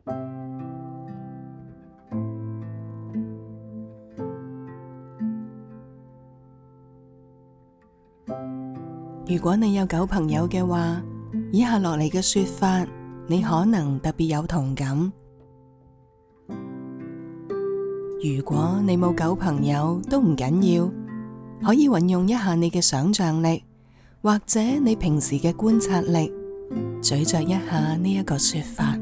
如果你有狗朋友嘅話，以下落嚟嘅說法，你可能特別有同感。如果你冇狗朋友都唔緊要，可以運用一下你嘅想象力，或者你平時嘅觀察力，咀嚼一下呢一個說法。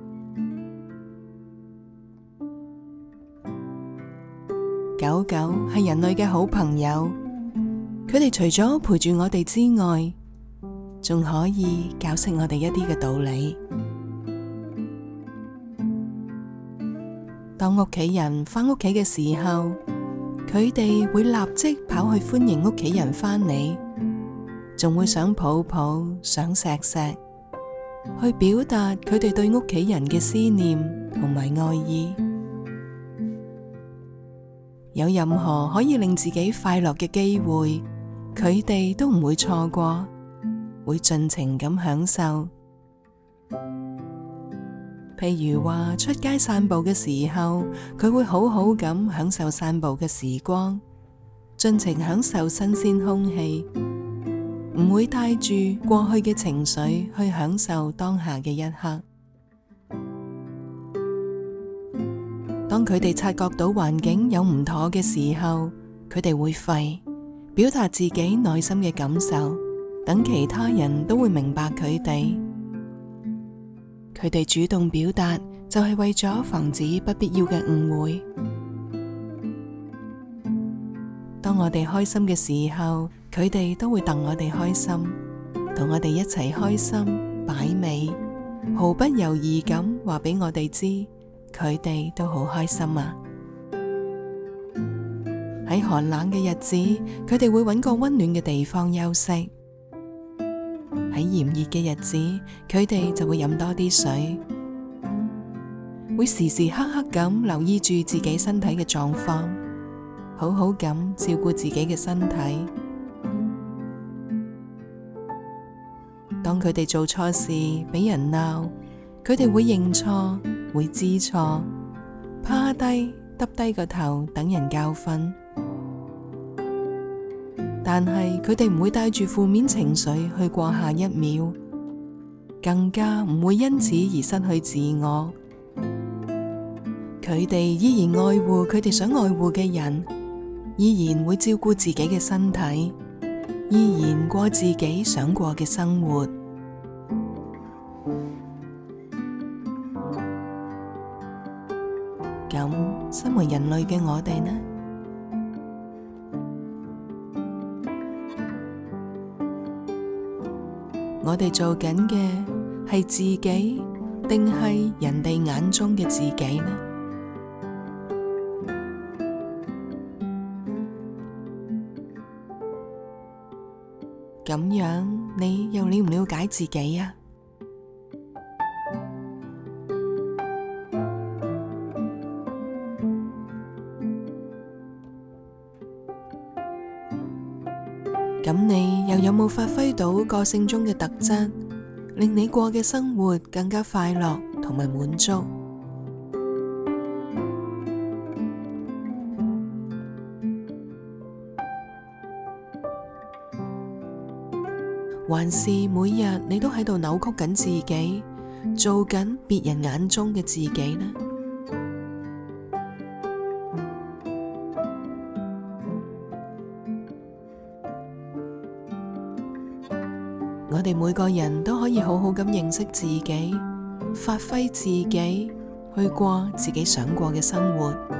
狗狗係人類嘅好朋友，佢哋除咗陪住我哋之外，仲可以教識我哋一啲嘅道理。當屋企人返屋企嘅時候，佢哋會立即跑去歡迎屋企人返嚟，仲會想抱抱、想錫錫，去表達佢哋對屋企人嘅思念同埋愛意。有任何可以令自己快樂嘅機會，佢哋都唔會錯過，會盡情咁享受。譬如話出街散步嘅時候，佢會好好咁享受散步嘅時光，盡情享受新鮮空氣，唔會帶住過去嘅情緒去享受當下嘅一刻。當佢哋察覺到環境有唔妥嘅時候，佢哋會吠，表達自己內心嘅感受，等其他人都會明白佢哋。佢哋主動表達，就係為咗防止不必要嘅誤會。當我哋開心嘅時候，佢哋都會戥我哋開心，同我哋一齊開心擺尾，毫不猶豫咁話俾我哋知，佢哋都好開心啊！喺寒冷嘅日子，佢哋會揾個溫暖嘅地方休息。喺炎熱嘅日子，佢哋就會飲多啲水，會時時刻刻咁留意住自己身體嘅狀況，好好咁照顧自己嘅身體。當佢哋做錯事俾人鬧，佢哋會認錯，會知錯，趴低耷低個頭等人教訓。但係佢哋唔會帶住負面情緒去過下一秒，更加唔會因此而失去自我。佢哋依然愛護佢哋想愛護嘅人，依然會照顧自己嘅身體，依然過自己想過嘅生活。咁，身為人類嘅我哋呢？我哋做緊嘅係自己，定係人哋眼中嘅自己呢？咁樣你又了唔了解自己啊？咁你又有冇發揮到個性中嘅特質，令你過嘅生活更加快樂同埋滿足？還是每日你都喺度扭曲緊自己，做緊別人眼中嘅自己呢？我哋每個人都可以好好咁認識自己，發揮自己，去過自己想過嘅生活。